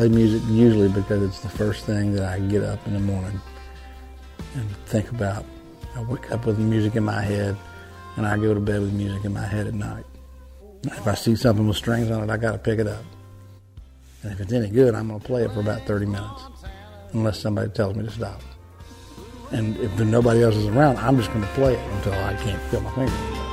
play music usually because it's the first thing that I get up in the morning and think about. I wake up with music in my head, and I go to bed with music in my head at night. If I see something with strings on it, I got to pick it up. And if it's any good, I'm going to play it for about 30 minutes, unless somebody tells me to stop. And if nobody else is around, I'm just going to play it until I can't feel my fingers anymore.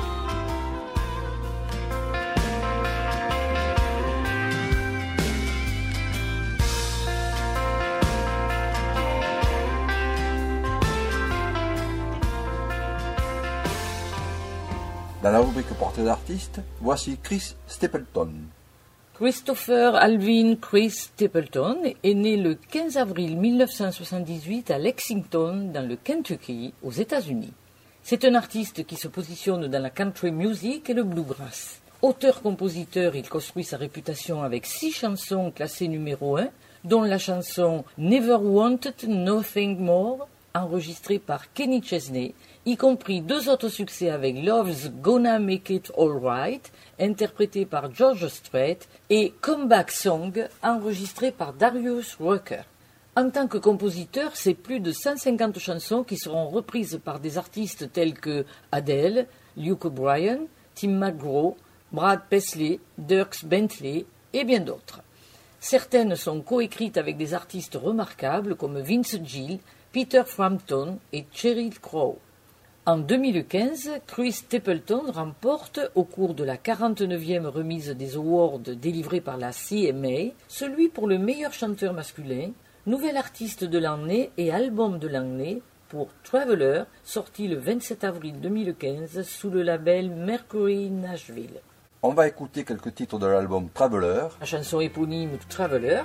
Dans la rubrique portrait d'artiste, voici Chris Stapleton. Christopher Alvin Chris Stapleton est né le 15 avril 1978 à Lexington, dans le Kentucky, aux États-Unis. C'est un artiste qui se positionne dans la country music et le bluegrass. Auteur-compositeur, il construit sa réputation avec 6 chansons classées numéro 1, dont la chanson Never Wanted Nothing More, enregistrée par Kenny Chesney, y compris 2 autres succès avec Love's Gonna Make It Alright, interprété par George Strait, et Comeback Song, enregistré par Darius Rucker. En tant que compositeur, c'est plus de 150 chansons qui seront reprises par des artistes tels que Adele, Luke Bryan, Tim McGraw, Brad Paisley, Dierks Bentley et bien d'autres. Certaines sont coécrites avec des artistes remarquables comme Vince Gill, Peter Frampton et Sheryl Crow. En 2015, Chris Stapleton remporte, au cours de la 49e remise des awards délivrée par la CMA, celui pour le meilleur chanteur masculin, nouvel artiste de l'année et album de l'année pour Traveler, sorti le 27 avril 2015 sous le label Mercury Nashville. On va écouter quelques titres de l'album Traveler. La chanson éponyme Traveler.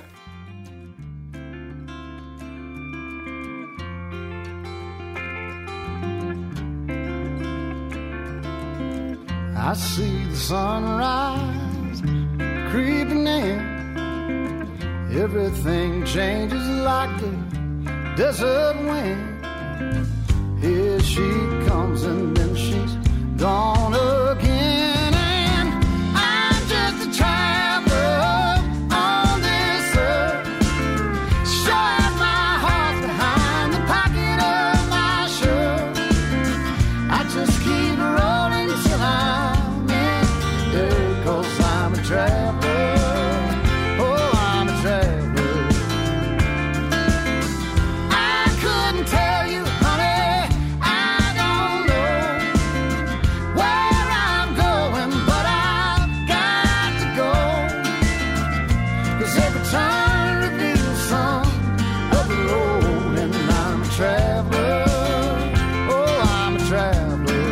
I see the sunrise creeping in. Everything changes like the desert wind. Here she comes and then she's gone again. And I'm just a traveler on this earth. Sure as my heart's behind the pocket of my shirt. I just keep rolling till I'm in dirt, 'cause I'm a traveler. Oh, I'm a traveler. I couldn't tell you, honey, I don't know where I'm going, but I've got to go, 'cause every turn reveals some of the road, and I'm a traveler. Oh, I'm a traveler.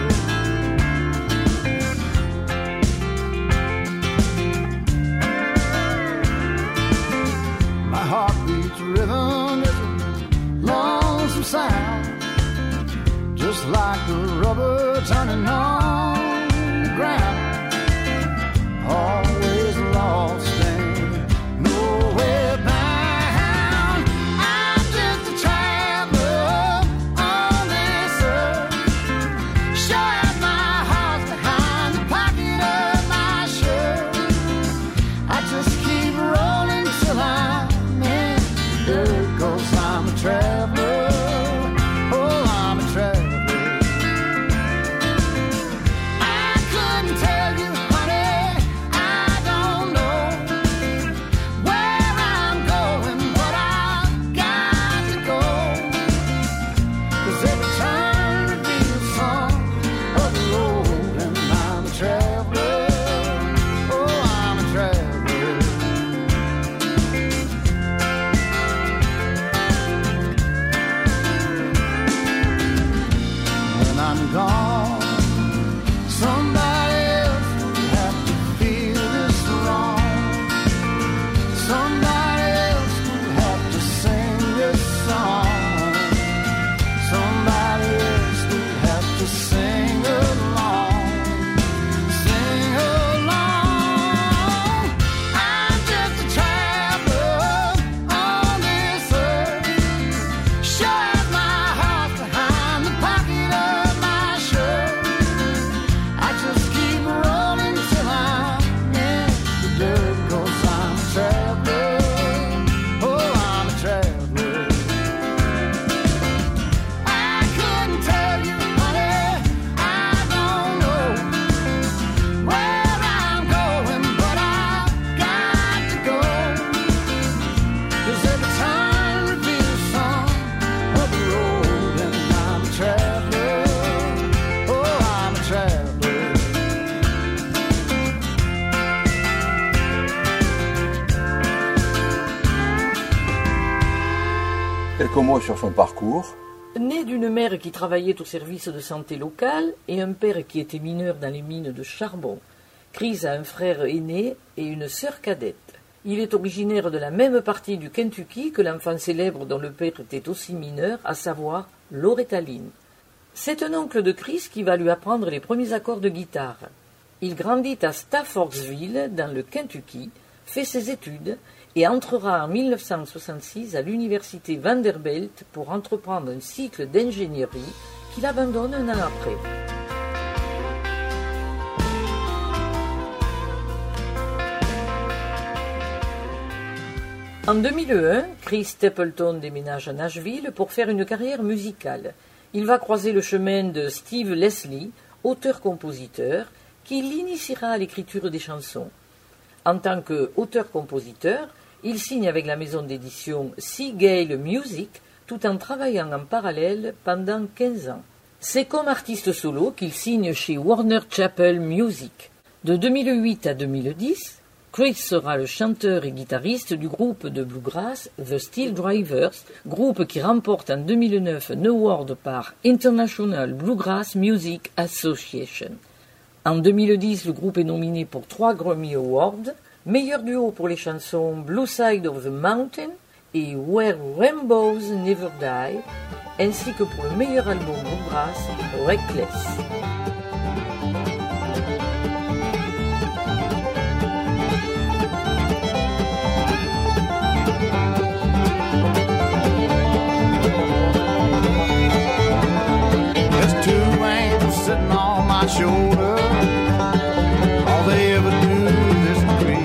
My heartbeat's rhythm is a lonesome sound, just like the rubber turning on the ground. Always lost and nowhere bound. I'm just a traveler on this earth. Sure as my heart's behind the pocket of my shirt. I just keep rolling till I'm in dirt, 'cause I'm a traveler. Oh, I'm a traveler. Quelques mots sur son parcours. Né d'une mère qui travaillait au service de santé local et un père qui était mineur dans les mines de charbon, Chris a un frère aîné et une sœur cadette. Il est originaire de la même partie du Kentucky que l'enfant célèbre dont le père était aussi mineur, à savoir Loretta Lynn. C'est un oncle de Chris qui va lui apprendre les premiers accords de guitare. Il grandit à Staffordsville, dans le Kentucky, fait ses études et entrera en 1966 à l'université Vanderbilt pour entreprendre un cycle d'ingénierie qu'il abandonne un an après. En 2001, Chris Stapleton déménage à Nashville pour faire une carrière musicale. Il va croiser le chemin de Steve Leslie, auteur-compositeur, qui l'initiera à l'écriture des chansons. En tant qu'auteur-compositeur, il signe avec la maison d'édition Seagale Music, tout en travaillant en parallèle pendant 15 ans. C'est comme artiste solo qu'il signe chez Warner Chappell Music. De 2008 à 2010, Chris sera le chanteur et guitariste du groupe de bluegrass The Steel Drivers, groupe qui remporte en 2009 un award par International Bluegrass Music Association. En 2010, le groupe est nominé pour 3 Grammy Awards, meilleur duo pour les chansons Blue Side of the Mountain et Where Rainbows Never Die, ainsi que pour le meilleur album bluegrass Reckless. Sitting on my shoulder, all they ever do is disagree.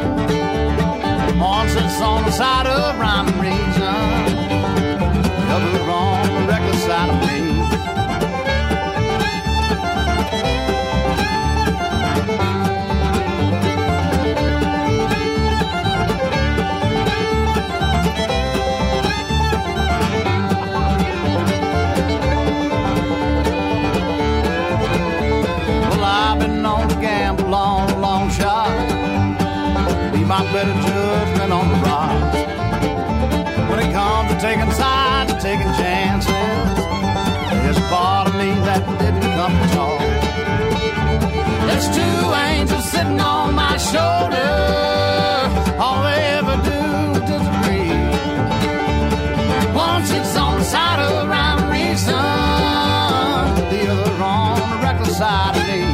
One sits on the side of rhyme and reason, the other on the reckless side of me. My better judgment on the rocks. When it comes to taking sides and taking chances, there's a part of me that didn't come at all. There's 2 angels sitting on my shoulder, all they ever do is disagree. One sits on the side of rhyme and reason, the other on the reckless side of me.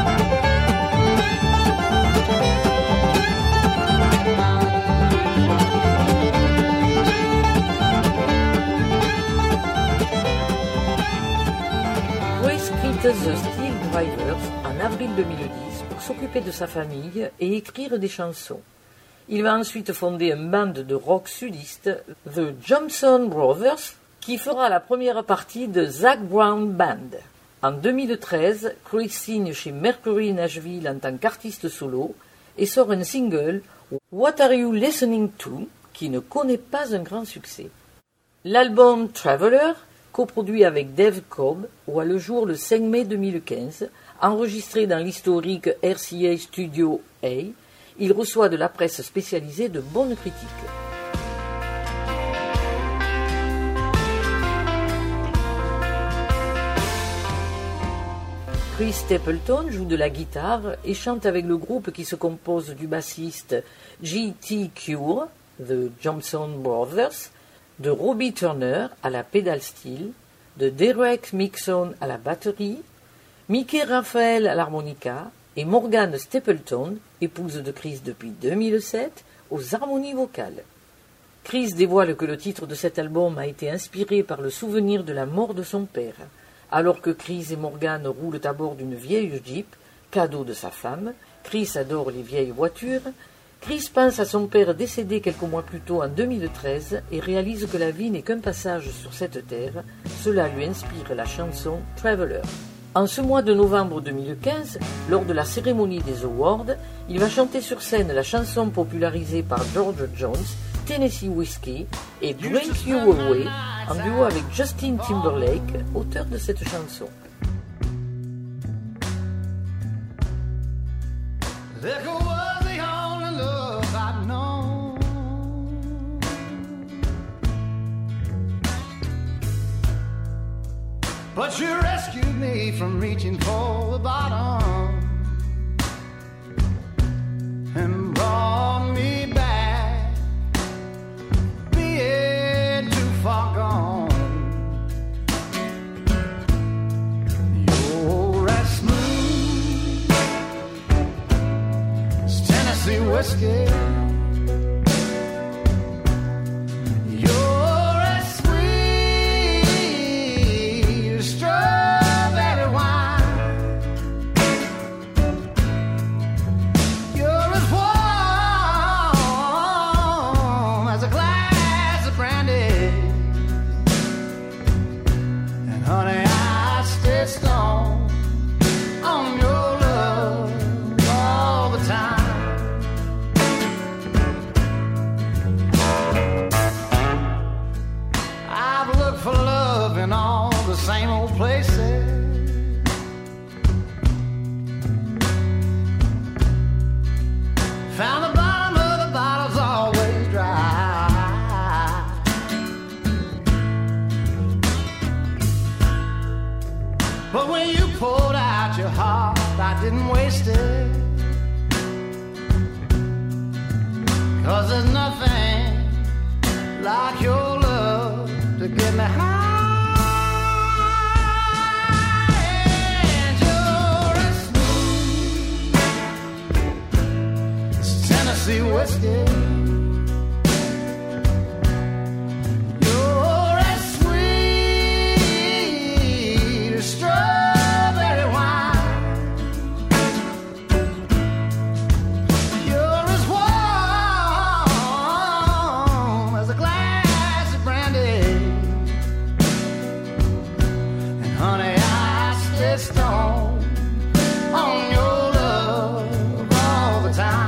The Steel Drivers en avril 2010 pour s'occuper de sa famille et écrire des chansons. Il va ensuite fonder une bande de rock sudiste, The Johnson Brothers, qui fera la première partie de Zac Brown Band. En 2013, Chris signe chez Mercury Nashville en tant qu'artiste solo et sort un single, What Are You Listening To, qui ne connaît pas un grand succès. L'album Traveler, coproduit avec Dave Cobb, voit le jour le 5 mai 2015. Enregistré dans l'historique RCA Studio A, il reçoit de la presse spécialisée de bonnes critiques. Chris Stapleton joue de la guitare et chante avec le groupe qui se compose du bassiste J.T. Cure, The Johnson Brothers, de Robbie Turner à la pédale steel, de Derek Mixon à la batterie, Mickey Raphael à l'harmonica et Morgan Stapleton, épouse de Chris depuis 2007, aux harmonies vocales. Chris dévoile que le titre de cet album a été inspiré par le souvenir de la mort de son père. Alors que Chris et Morgan roulent à bord d'une vieille Jeep, cadeau de sa femme, Chris adore les vieilles voitures, Chris pense à son père décédé quelques mois plus tôt en 2013 et réalise que la vie n'est qu'un passage sur cette terre. Cela lui inspire la chanson Traveler. En ce mois de novembre 2015, lors de la cérémonie des Awards, il va chanter sur scène la chanson popularisée par George Jones, Tennessee Whiskey, et Drink You Away, en duo avec Justin Timberlake, auteur de cette chanson. But you rescued me from reaching for the bottom and brought me back, being too far gone. You're as smooth as Tennessee whiskey. Same old places, found the bottom of the bottle's always dry. But when you poured out your heart, I didn't waste it, 'cause there's nothing like your love to get me high. Tennessee whiskey. You're as sweet as strawberry wine. You're as warm as a glass of brandy. And honey, I stay stoned on your love all the time.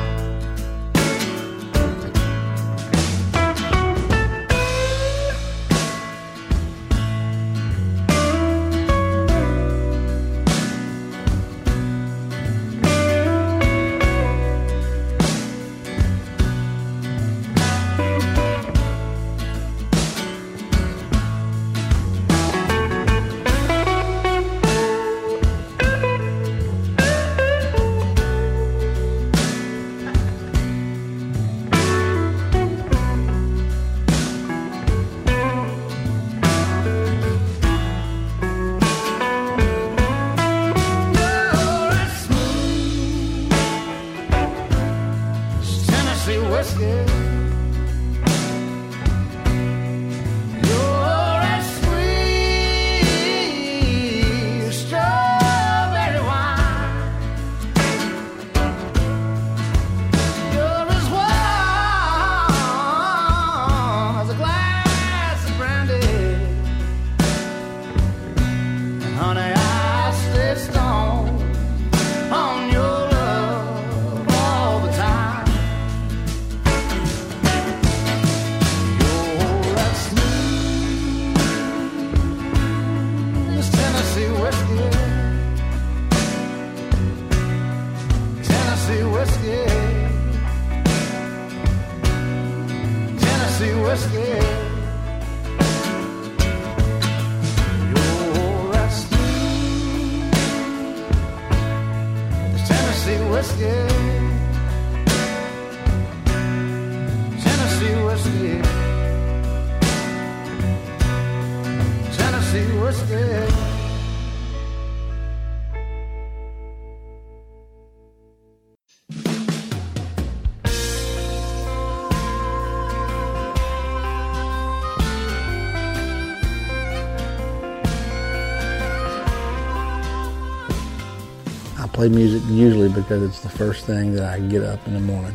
I play music usually because it's the first thing that I get up in the morning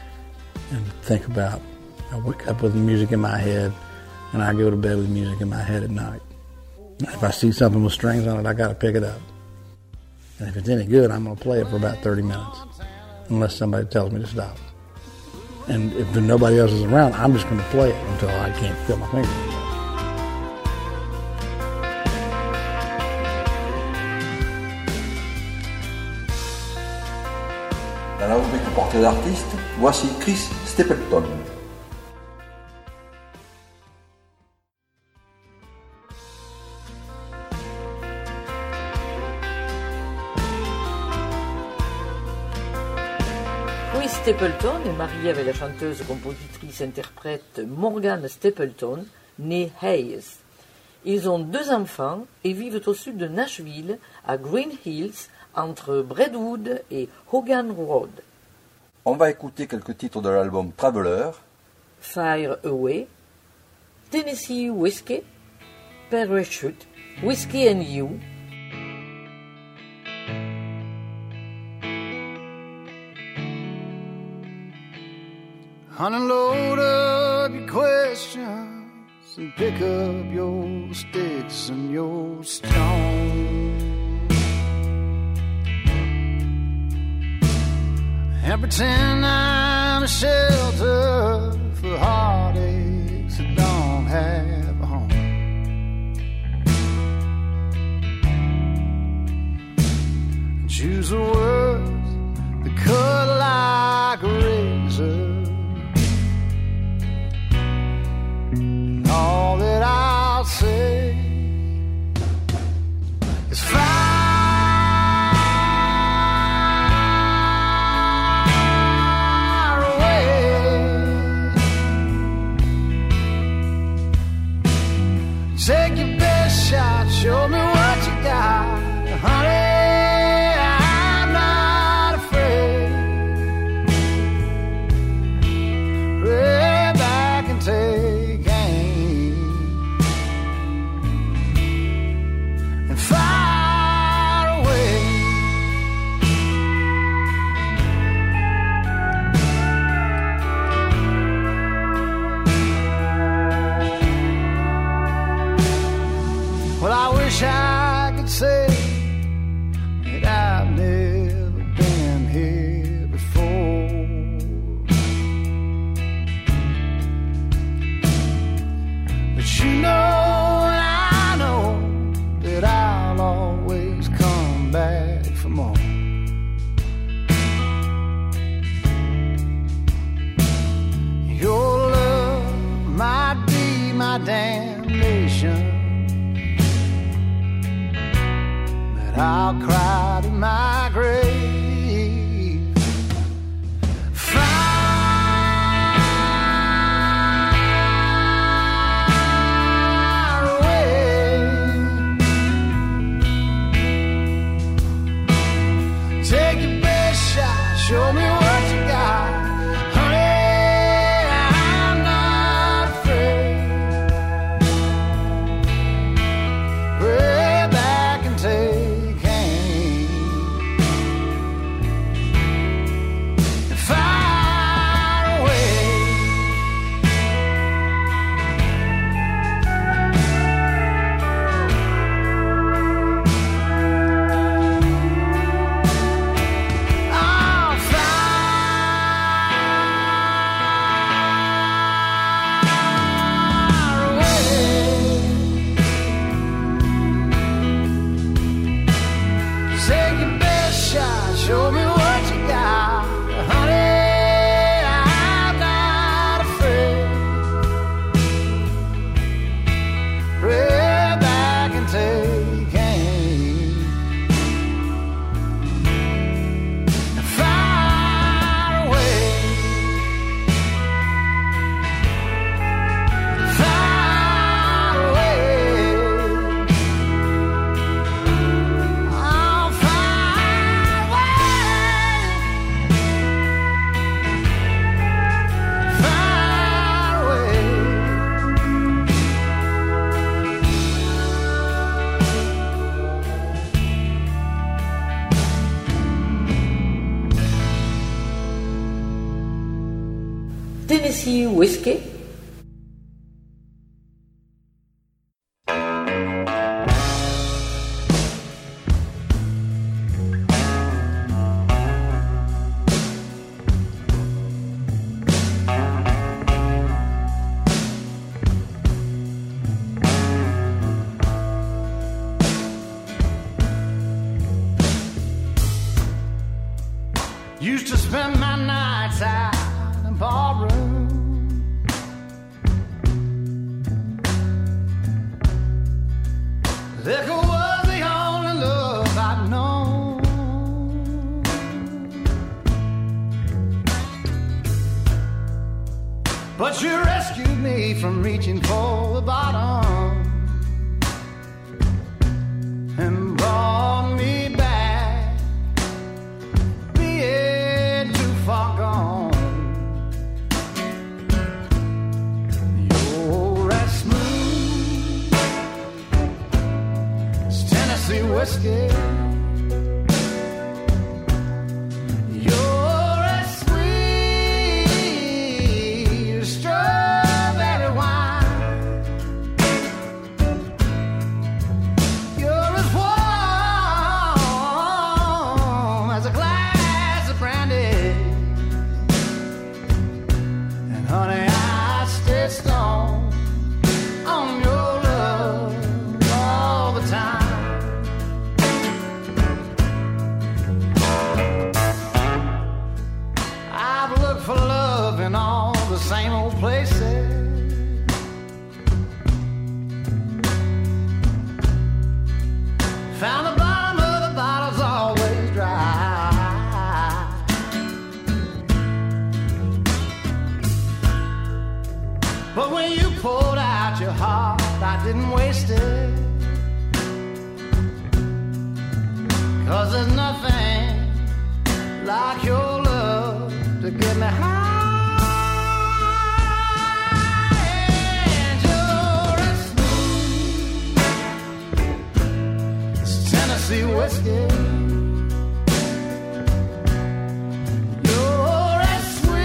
and think about. I wake up with music in my head, and I go to bed with music in my head at night. If I see something with strings on it, I got to pick it up. And if it's any good, I'm going to play it for about 30 minutes, unless somebody tells me to stop. And if nobody else is around, I'm just going to play it until I can't feel my fingers. Dans la rubrique portrait d'artiste, voici Chris Stapleton. Chris Stapleton est marié avec la chanteuse, compositrice, interprète Morgan Stapleton, née Hayes. Ils ont 2 enfants et vivent au sud de Nashville, à Green Hills, entre Brentwood et Hogan Road. On va écouter quelques titres de l'album Traveler. Fire Away, Tennessee Whiskey, Parachute, Whiskey and You, Unload up your questions and pick up your sticks and your stones and pretend I'm a shelter for heartaches that don't have a home. Choose the words that cut like a razor. All that I'll say is fire away. Take your best shot, show me what you got, honey. I'm not afraid. Way back and take far away. Well, I wish I could say that I've never been here before, but you know that I'll always come back for more. Your love might be my damnation, but I'll cry to my grave. Show me what you got, honey, I'm not afraid. Way back and take aim. Far away. Show me what you got, honey, I'm not afraid. Pray back and take aim. Far away. Far away. Oh, far away. Tennessee Whiskey, Used to spend my nights out in a barroom. Liquor was the only love I'd known. But you rescued me from reaching for the bottom and brought me back, being too far gone. You're as smooth as Tennessee whiskey. Same old places, found the bottom of the bottle's always dry. But when you poured out your heart, I didn't waste it, 'cause there's nothing like your love to get me high. Tennessee whiskey. You're as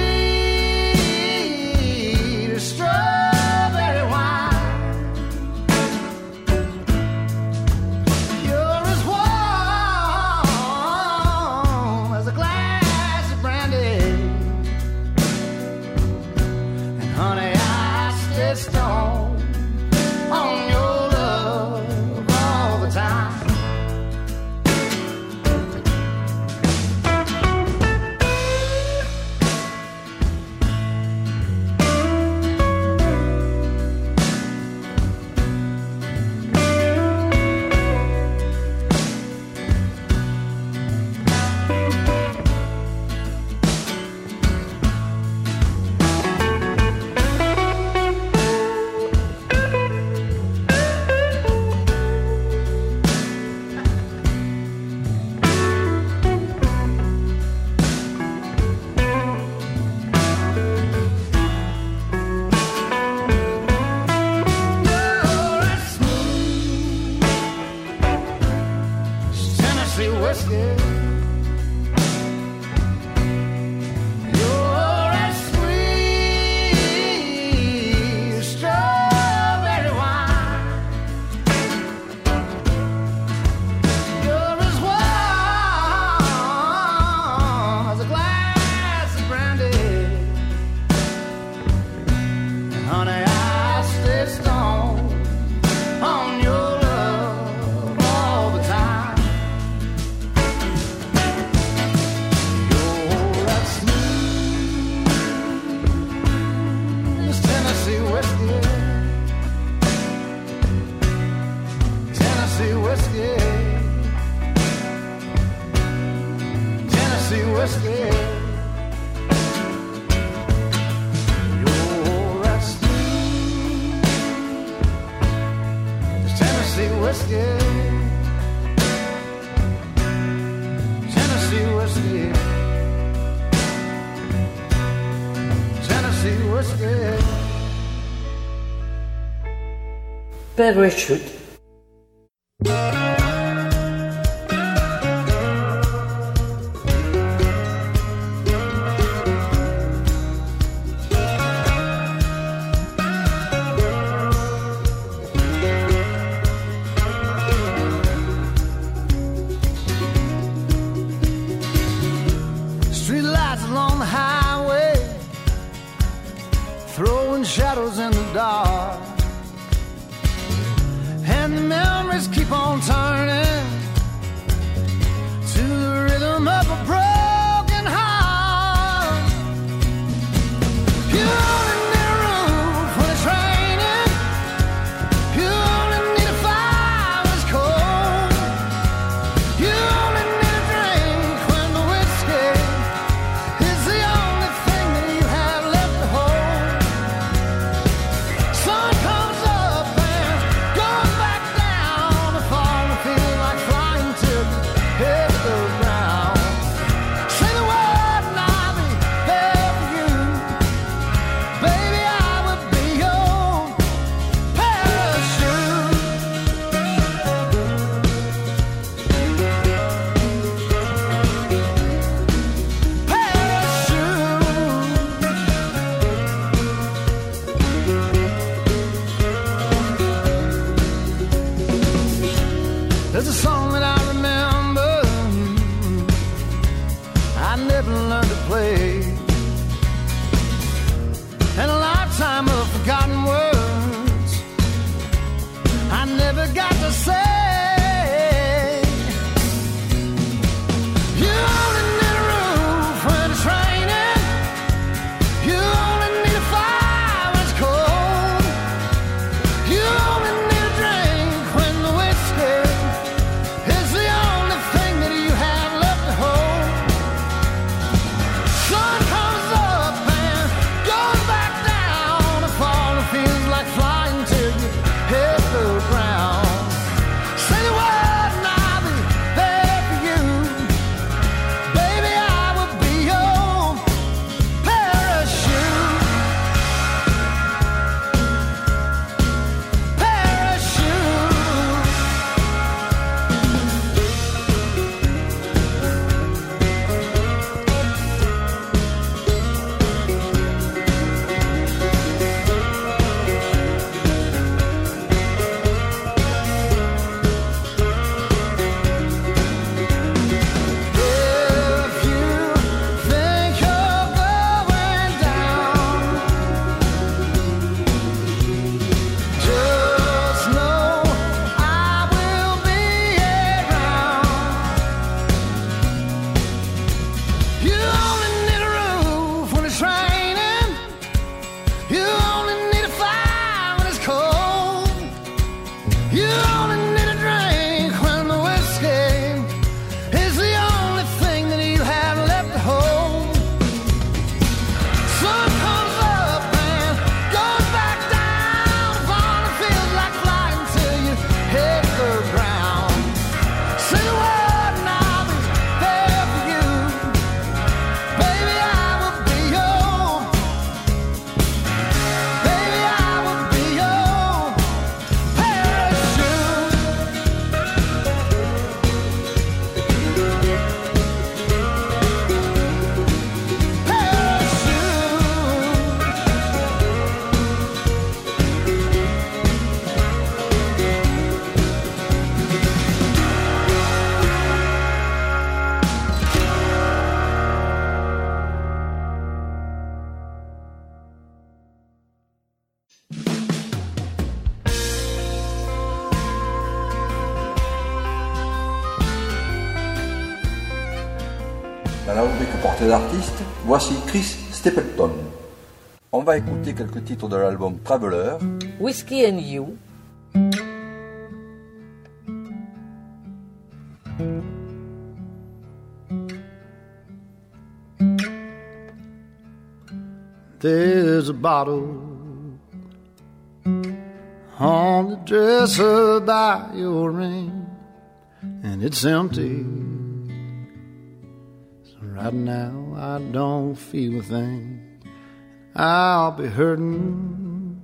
sweet as strawberry wine. You're as warm as a glass of brandy. And honey, I stay stoned on your love all the time. Parachute. Streetlights along the highway, throwing shadows in the dark. And the memories keep on turning to the rhythm of a broken heart. You only need a roof when it's raining. You only need a fire when it's cold. You only need a drink when the whiskey is the only thing that you have left to hold. You only need a drink when the whiskey is the only thing that you have left to hold. Sun comes up and goes back down. Upon it feels like flying till you hit the ground. Say the word and I'll be there for you. Baby, I will be your. Baby, I will be your parachute. Dans la rubrique portée d'artiste, voici Chris Stapleton. On va écouter quelques titres de l'album Traveler. Whiskey and You, There's a bottle on the dresser by your ring, and it's empty. So right now I don't feel a thing. I'll be hurting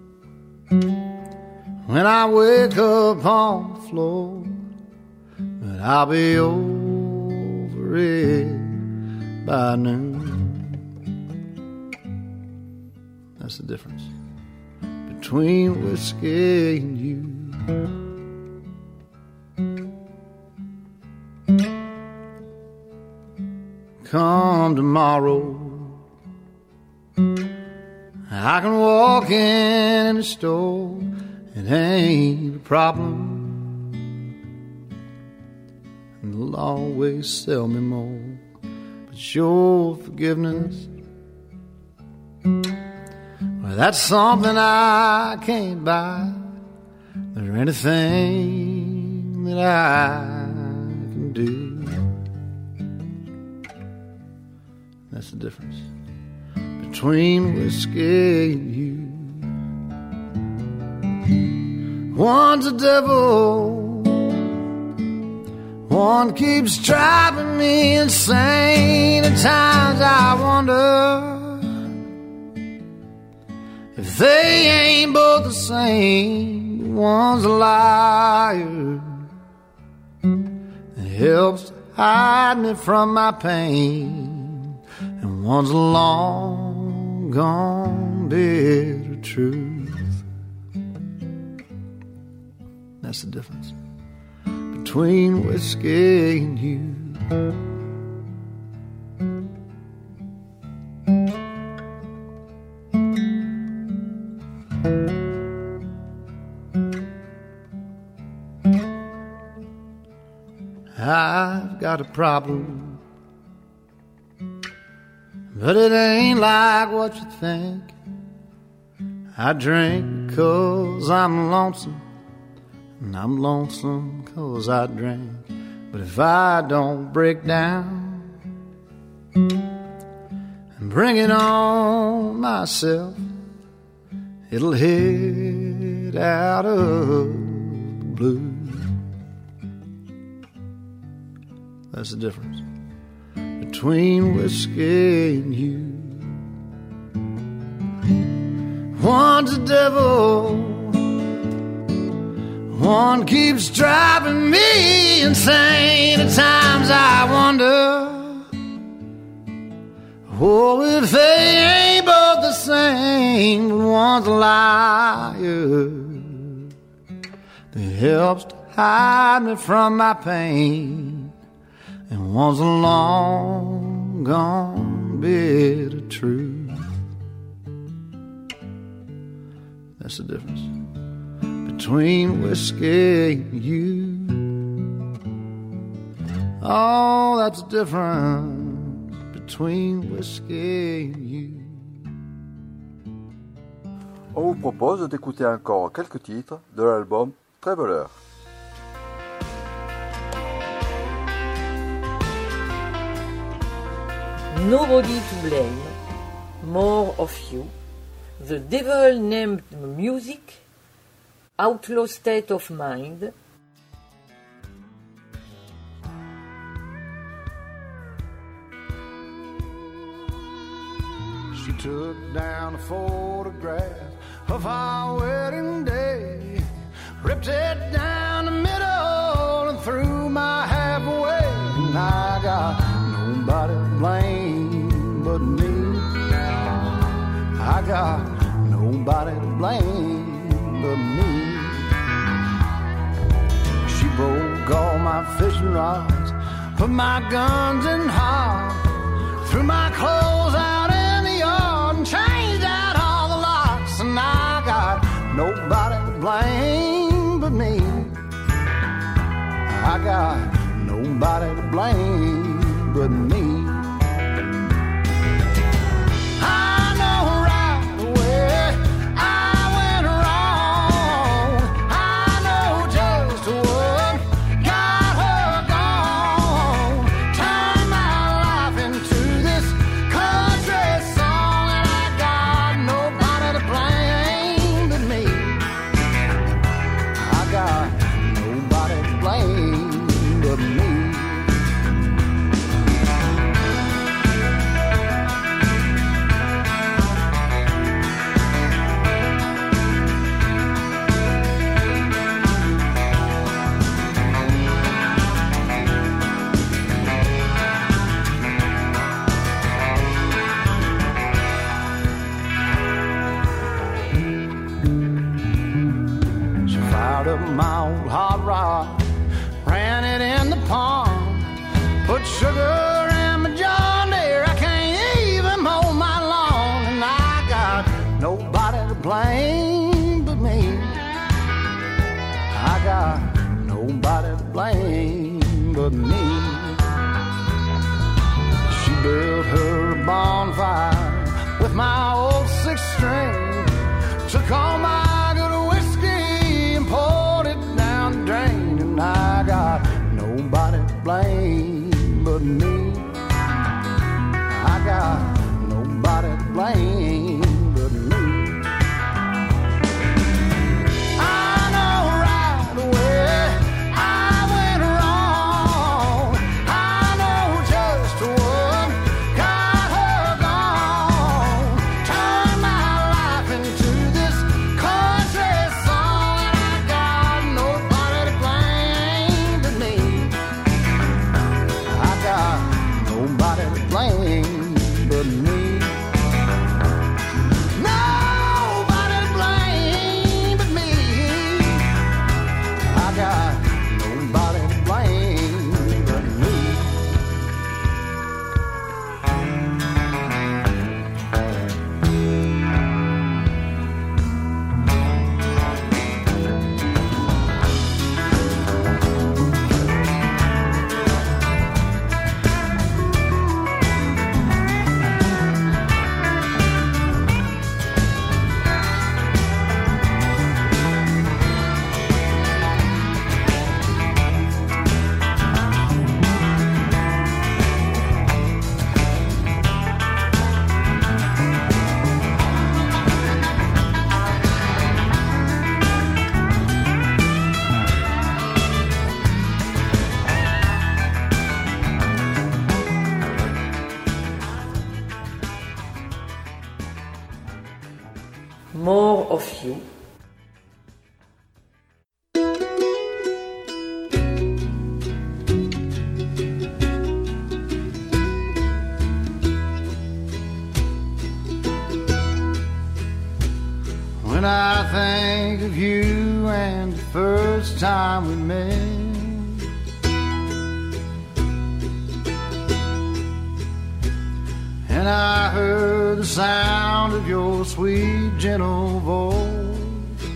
when I wake up on the floor, but I'll be over it by noon. That's the difference between whiskey and you. Come tomorrow, I can walk in the store. It ain't a problem, and they'll always sell me more. But your forgiveness, well, that's something I can't buy. There anything that I can do. That's the difference between whiskey and you. One's a devil, one keeps driving me insane. At times I wonder if they ain't both the same. One's a liar that helps to hide me from my pain, and one's a long gone bitter truth. That's the difference between whiskey and you. I've got a problem, but it ain't like what you think. I drink 'cause I'm lonesome, and I'm lonesome 'cause I drink. But if I don't break down and bring it on myself, it'll hit out of the blue. That's the difference between whiskey and you. One's a devil, one keeps driving me insane. At times I wonder, oh, if they ain't both the same. But one's a liar that helps to hide me from my pain, and one's a long gone bitter truth. That's the difference between whiskey and you. Oh, that's the difference between whiskey and you. On vous propose d'écouter encore quelques titres de l'album Traveler. Nobody to blame, more of you, the devil named music, outlaw state of mind. She took down a photograph of our wedding day, ripped it down the middle and threw my half away. And I got nobody to blame but me. I got nobody to blame but me. She broke all my fishing rods, put my guns in hard, threw my clothes out in the yard and changed out all the locks. And I got nobody to blame but me. I got nobody to blame but me. I know right away I went wrong. I know just what got her gone. Turned my life into this country song, and I got nobody to blame but me. I got nobody to blame but me. She fired up my old hot rod, ran it in the pond, put sugar in my John Deere. I can't even mow my lawn, and I got nobody to blame but me. I got nobody to blame but me. She built her a bonfire with my old six string, took all my good whiskey and poured it down the drain. And I got nobody to blame but me. I got nobody to blame but me. I know right away I went wrong. I know just what got her gone. Turned my life into this country song, and I got nobody to blame but me. I got nobody to blame but me. Nobody to blame but me. I got nobody to blame but me. More of you. When I think of you and the first time we met, and I heard the sound of your sweet, gentle voice,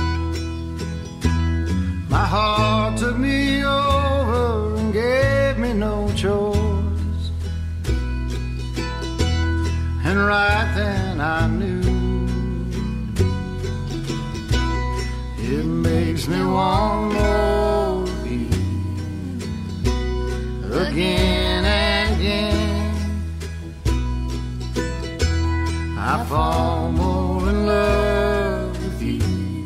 my heart took me over and gave me no choice. And right then I knew it made makes me want more of you again and again. I fall more in love with you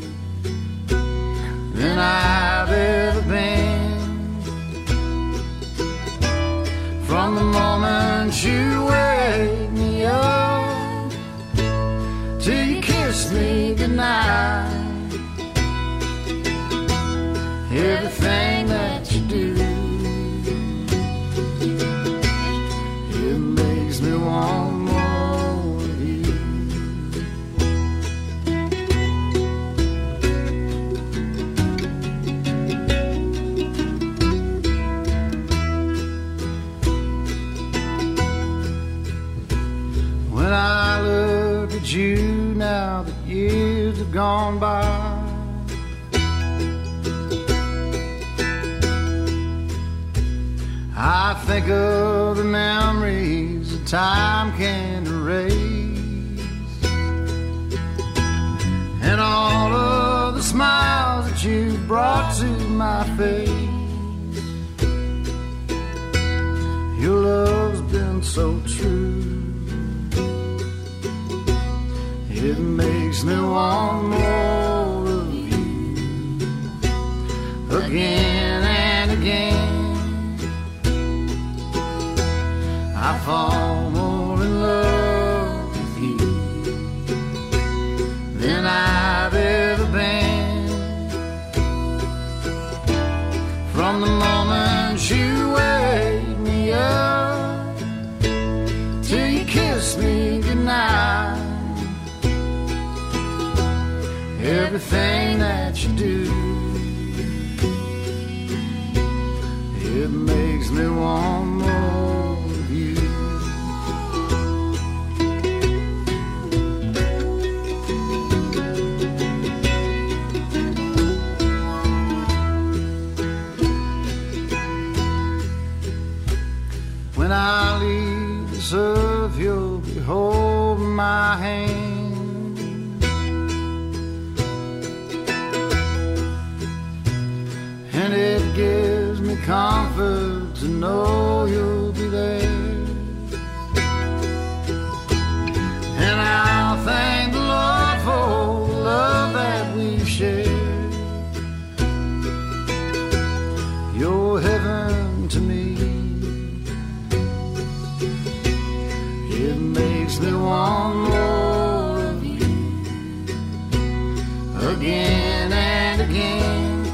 than I've ever been. From the moment you wake me up till you kiss me goodnight, everything that you do, it makes me want more of you. When I look at you now that years have gone by, I think of the memories that time can erase, and all of the smiles that you brought to my face. Your love's been so true, it makes me want more of you again and again. I fall more in love with you than I've ever been. From the moment you wake me up till you kiss me goodnight, everything that you do, it makes me want more. When I leave this earth, you'll be holding my hand, and it gives me comfort to know you'll be there. And I'll thank the Lord for the love that we've shared. You're heaven to me. It makes me want more of you again and again.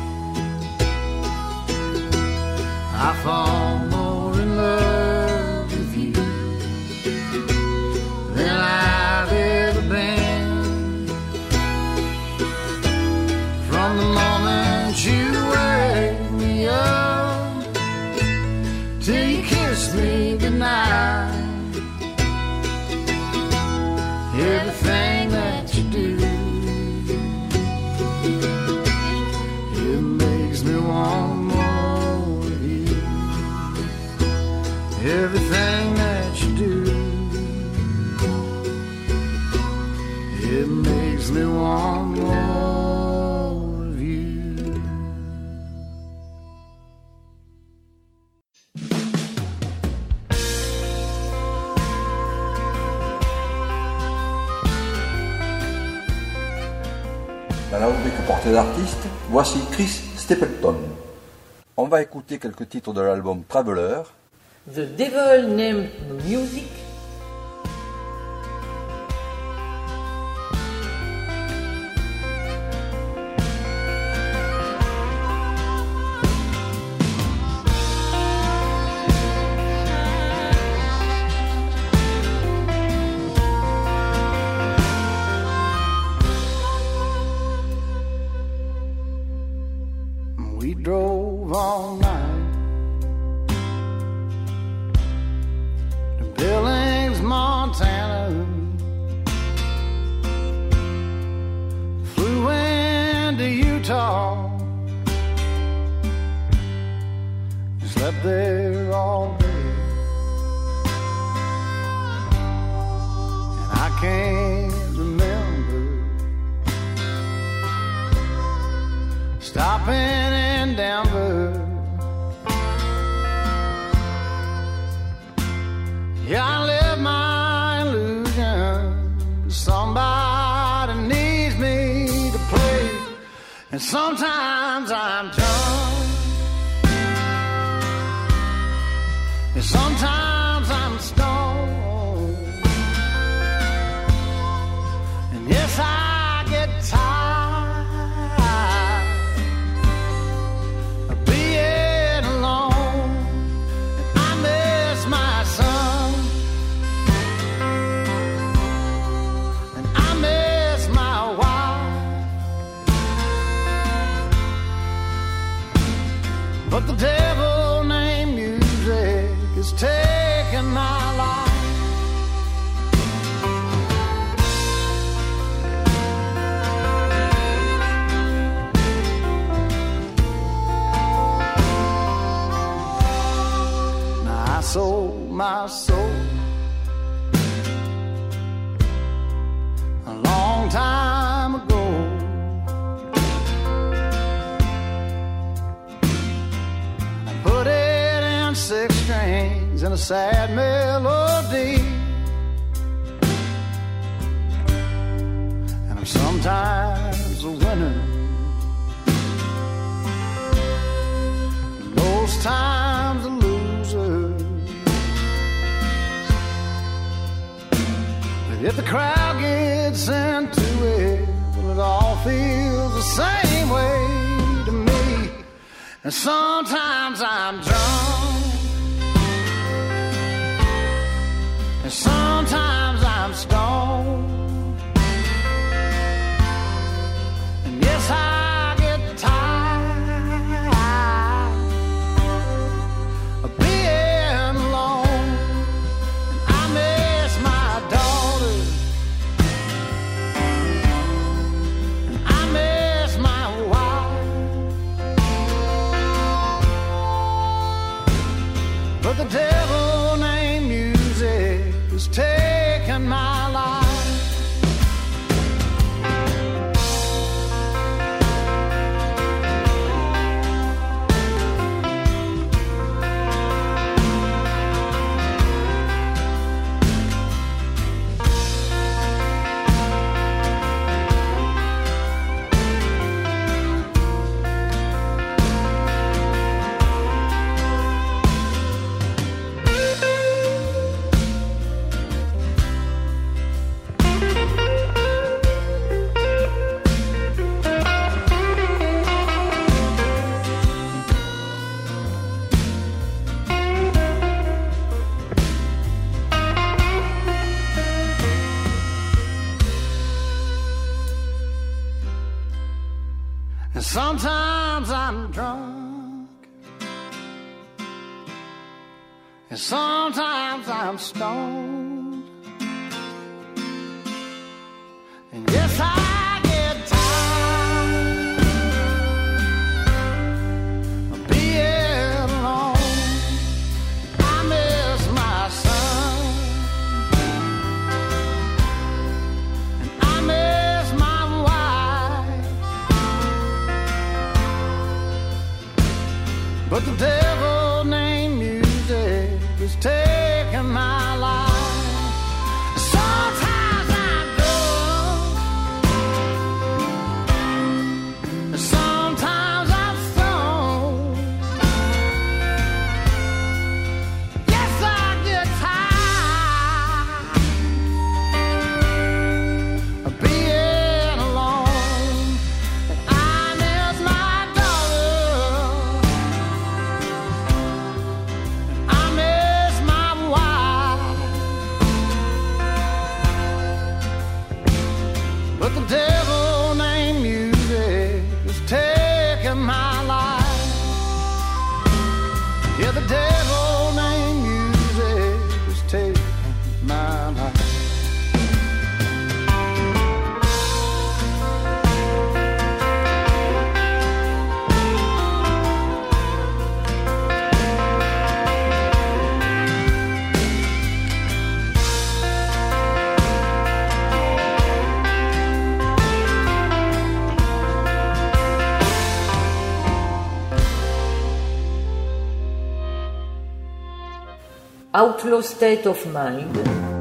I fall more in love with you than I've ever been. From the moment you wake me up till you kiss me goodnight, everything that you do, it makes me want more of you. Everything that you do, it makes me want more of you. Dans la rubrique portée d'artiste, voici Chris Stapleton. On va écouter quelques titres de l'album Traveler. The Devil Named Music. We drove all night to Billings, Montana. Flew into Utah, slept there all day, and I can't remember stopping in Denver. Yeah, I live my illusion. Somebody needs me to play, and sometimes I'm drunk, and sometimes I'm stoned, and yes, I get tired of being alone, and I miss my son, and I miss my wife, but the devil named music is taking my life. Now I sold my soul a long time ago. I put it in 6 strings and a sad melody, and I'm sometimes a winner, most times a loser. But if the crowd gets into it, well, it all feels the same way to me. And sometimes I'm drunk, and sometimes I'm stoned, and yes, I get tired of being alone, and I miss my daughter, and I miss my wife, but the devil named music is taking my life. And sometimes I'm drunk, and sometimes I'm stoned, and yes, I get tired of being alone. I miss my son, and I miss my wife, but the devil named music is taking my life. Sometimes I'm drunk, sometimes I'm stoned. Yes, I get tired of being alone, and I miss my daughter, and I miss my wife, but the devil named music is taking my life. Yeah, the devil named music is taking my life. Outlaw State of Mind.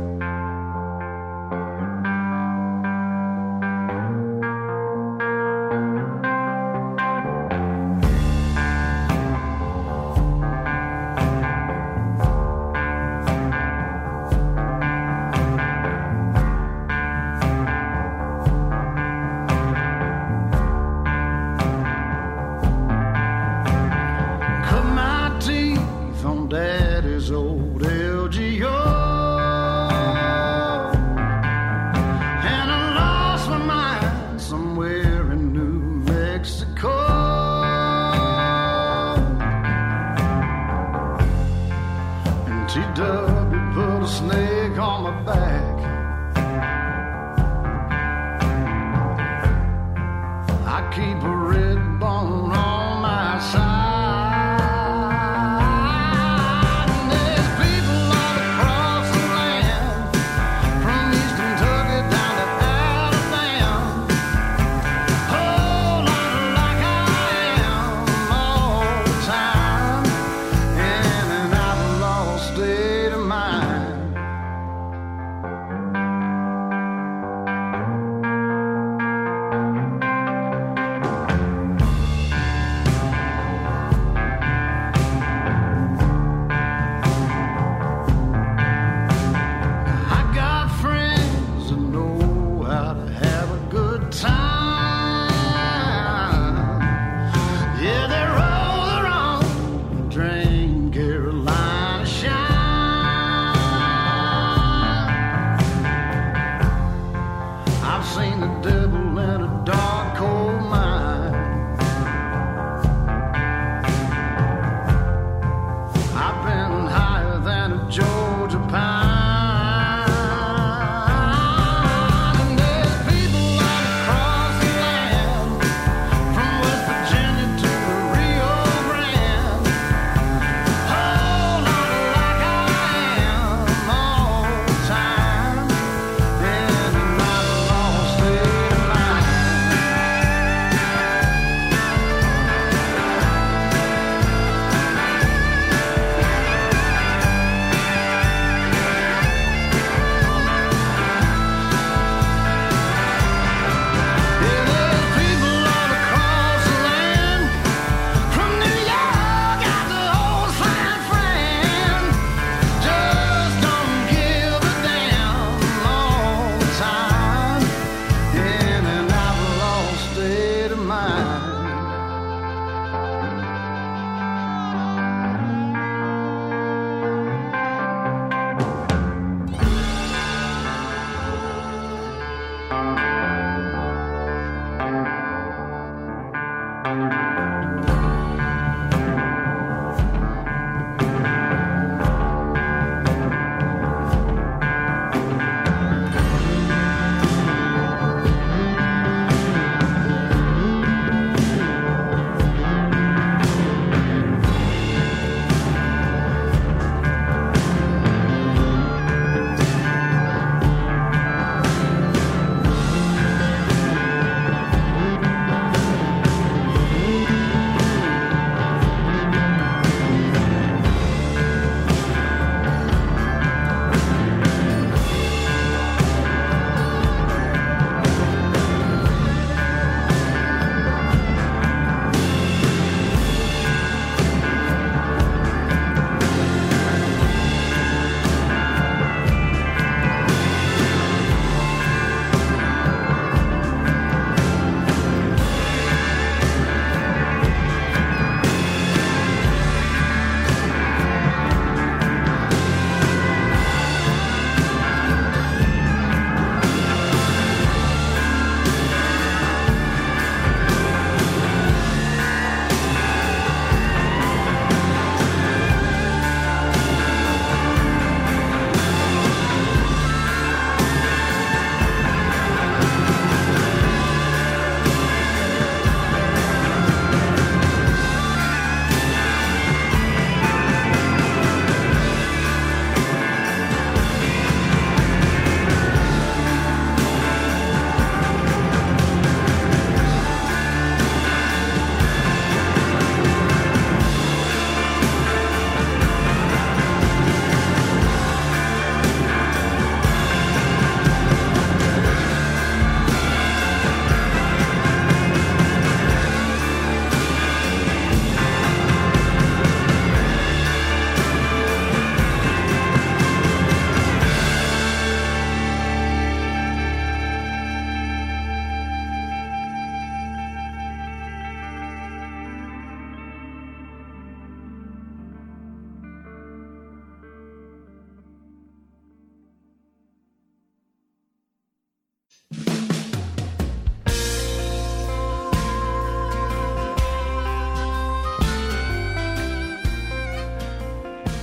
Cut my teeth on Daddy's old LGO, and I lost my mind somewhere in New Mexico. And TW put a snake on my back. I keep a red bone on my side.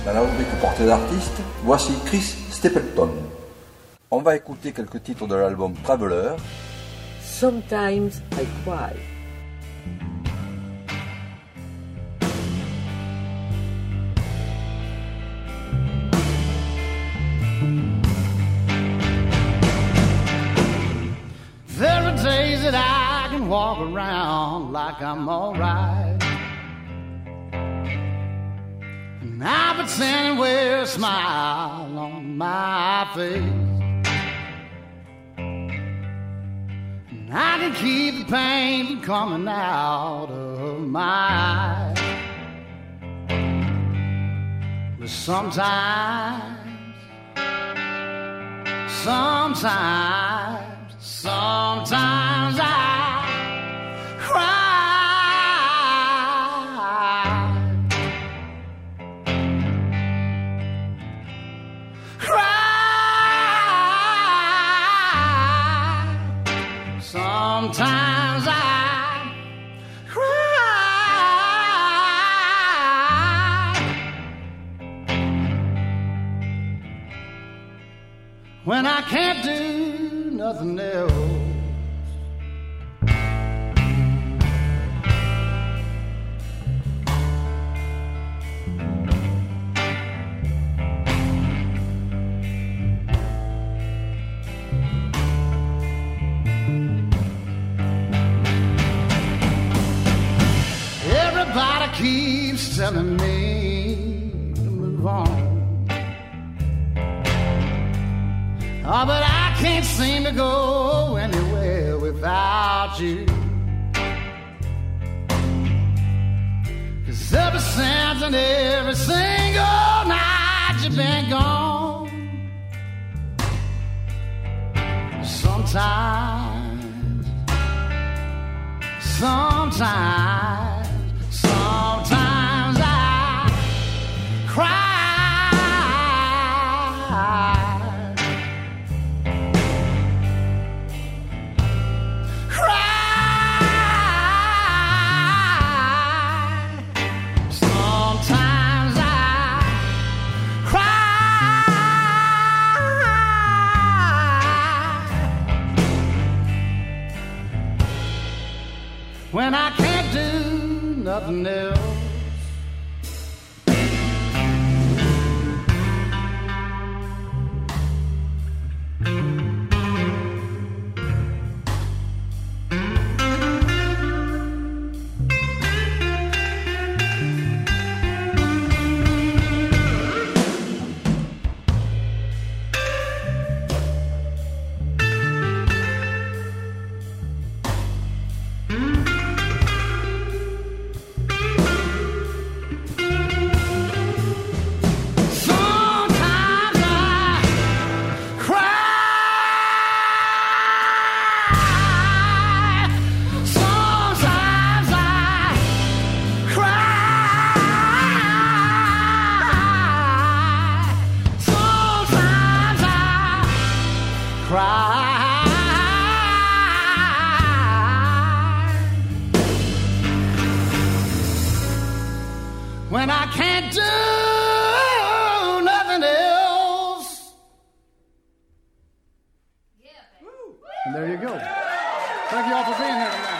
Dans la rubrique portée d'artiste, voici Chris Stapleton. On va écouter quelques titres de l'album Traveler. Sometimes I Cry. There are days that I can walk around like I'm alright, and I pretend and wear a smile on my face, and I can keep the pain from coming out of my eyes. But sometimes I cry. Sometimes I cry. When I can't do nothing else. Everybody keeps telling me to move on. Oh, but I can't seem to go anywhere without you. 'Cause ever since and every single night you've been gone. Sometimes I cry. Sometimes I cry. When I can't do nothing else. When I can't do nothing else. And there you go. Thank you all for being here tonight.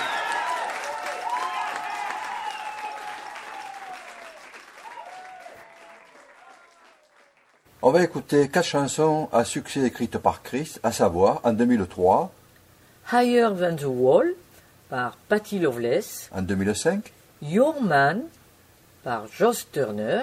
On va écouter 4 chansons à succès écrites par Chris, à savoir en 2003, Higher Than the Wall par Patti Loveless, en 2005, Your Man par Joss Turner,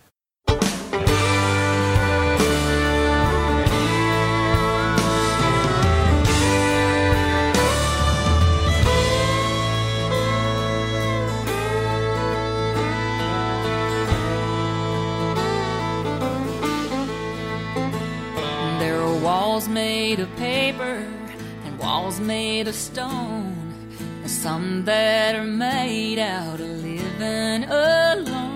There are walls made of paper and walls made of stone, and some that are made out of living alone.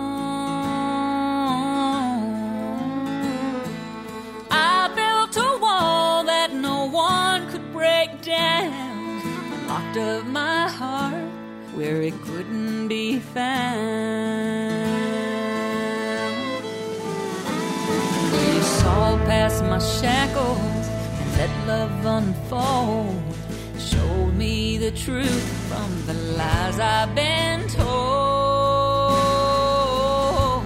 I built a wall that no one could break down, and locked up my heart where it couldn't be found. my shackles and let love unfold. Showed me the truth from the lies I've been told.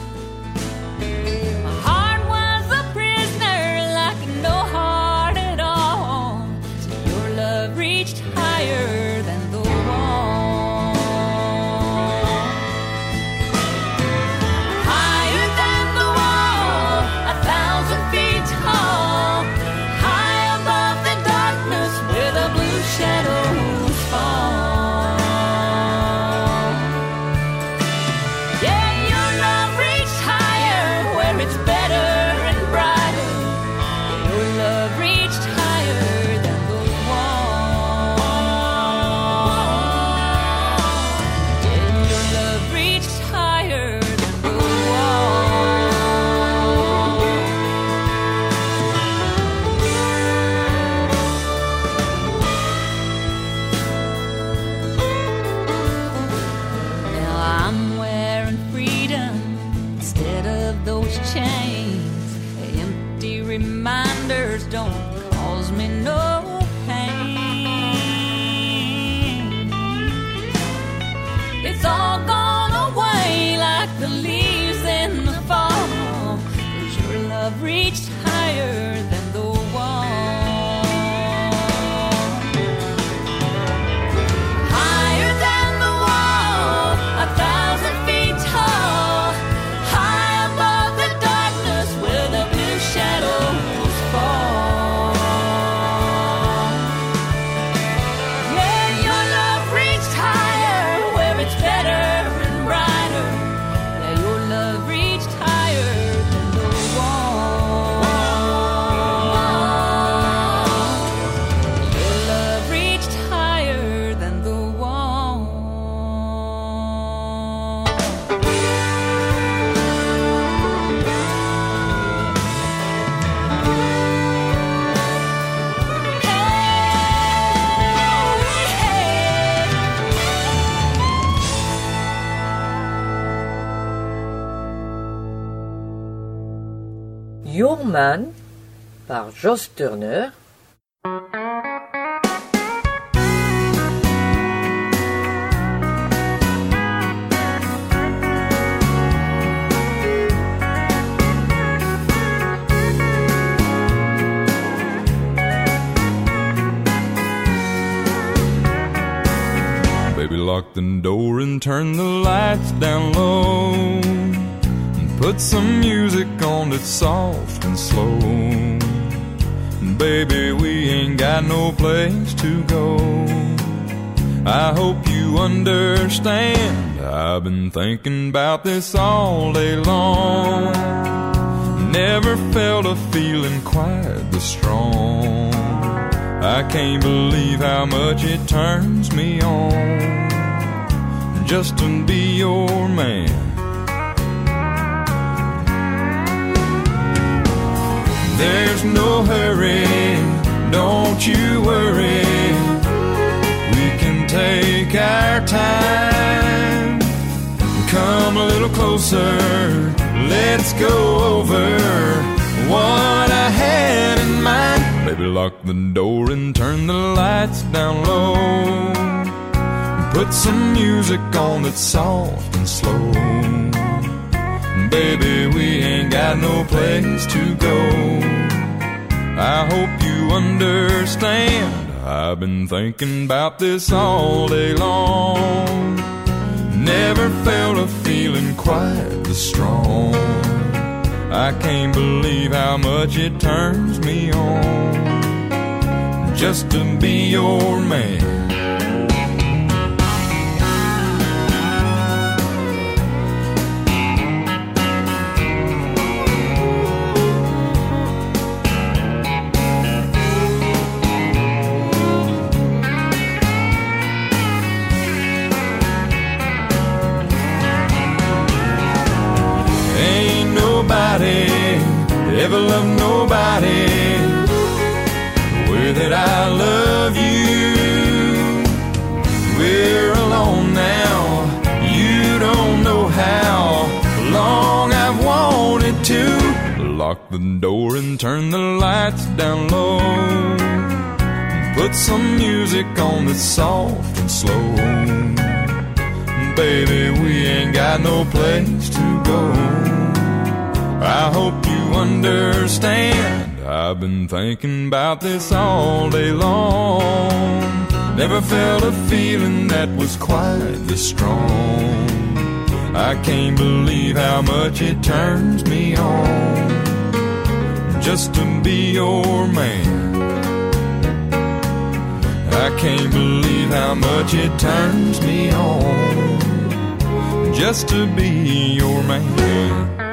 My heart was a prisoner like no heart at all, till your love reached higher than the wall. Higher than the wall, 1,000 feet tall, high above the darkness where the blue shadows fall. Yeah, your love reached higher where it's better and brighter. Your love reached higher than the wall. Yeah, your love reached higher than the wall. Now I'm wearing freedom instead of those chains. Empty reminders don't cause me no pain. It's all gone away like the leaves in the fall, 'cause your love reached higher than the wall. Higher than the wall, 1,000 feet tall, high above the darkness where the blue shadows fall. Yeah, your love reached higher where it's better and brighter. Yeah, your love reached higher than the wall. Your love reached higher than the wall. Your Man par Joss Turner. Baby, lock the door and turn the lights down low, and put some music on that's soft and slow. Baby, we ain't got no place to go. I hope you understand, I've been thinking about this all day long. Never felt a feeling quite this strong. I can't believe how much it turns me on just to be your man. There's no hurry, don't you worry. We can take our time. Come a little closer, let's go over what I had in mind. Baby, lock the door and turn the lights down low. Put some music on that's soft and slow. Baby, we ain't got no place to go. I hope you understand, I've been thinking about this all day long. Never felt a feeling quite this strong. I can't believe how much it turns me on just to be your man. Ever loved nobody the way that I love you. We're alone now, you don't know how long I've wanted to. lock the door and turn the lights down low. Put some music on that's soft and slow. Baby, we ain't got no place to go. I hope you understand. I've been thinking about this all day long. Never felt a feeling that was quite this strong. I can't believe how much it turns me on just to be your man. I can't believe how much it turns me on just to be your man.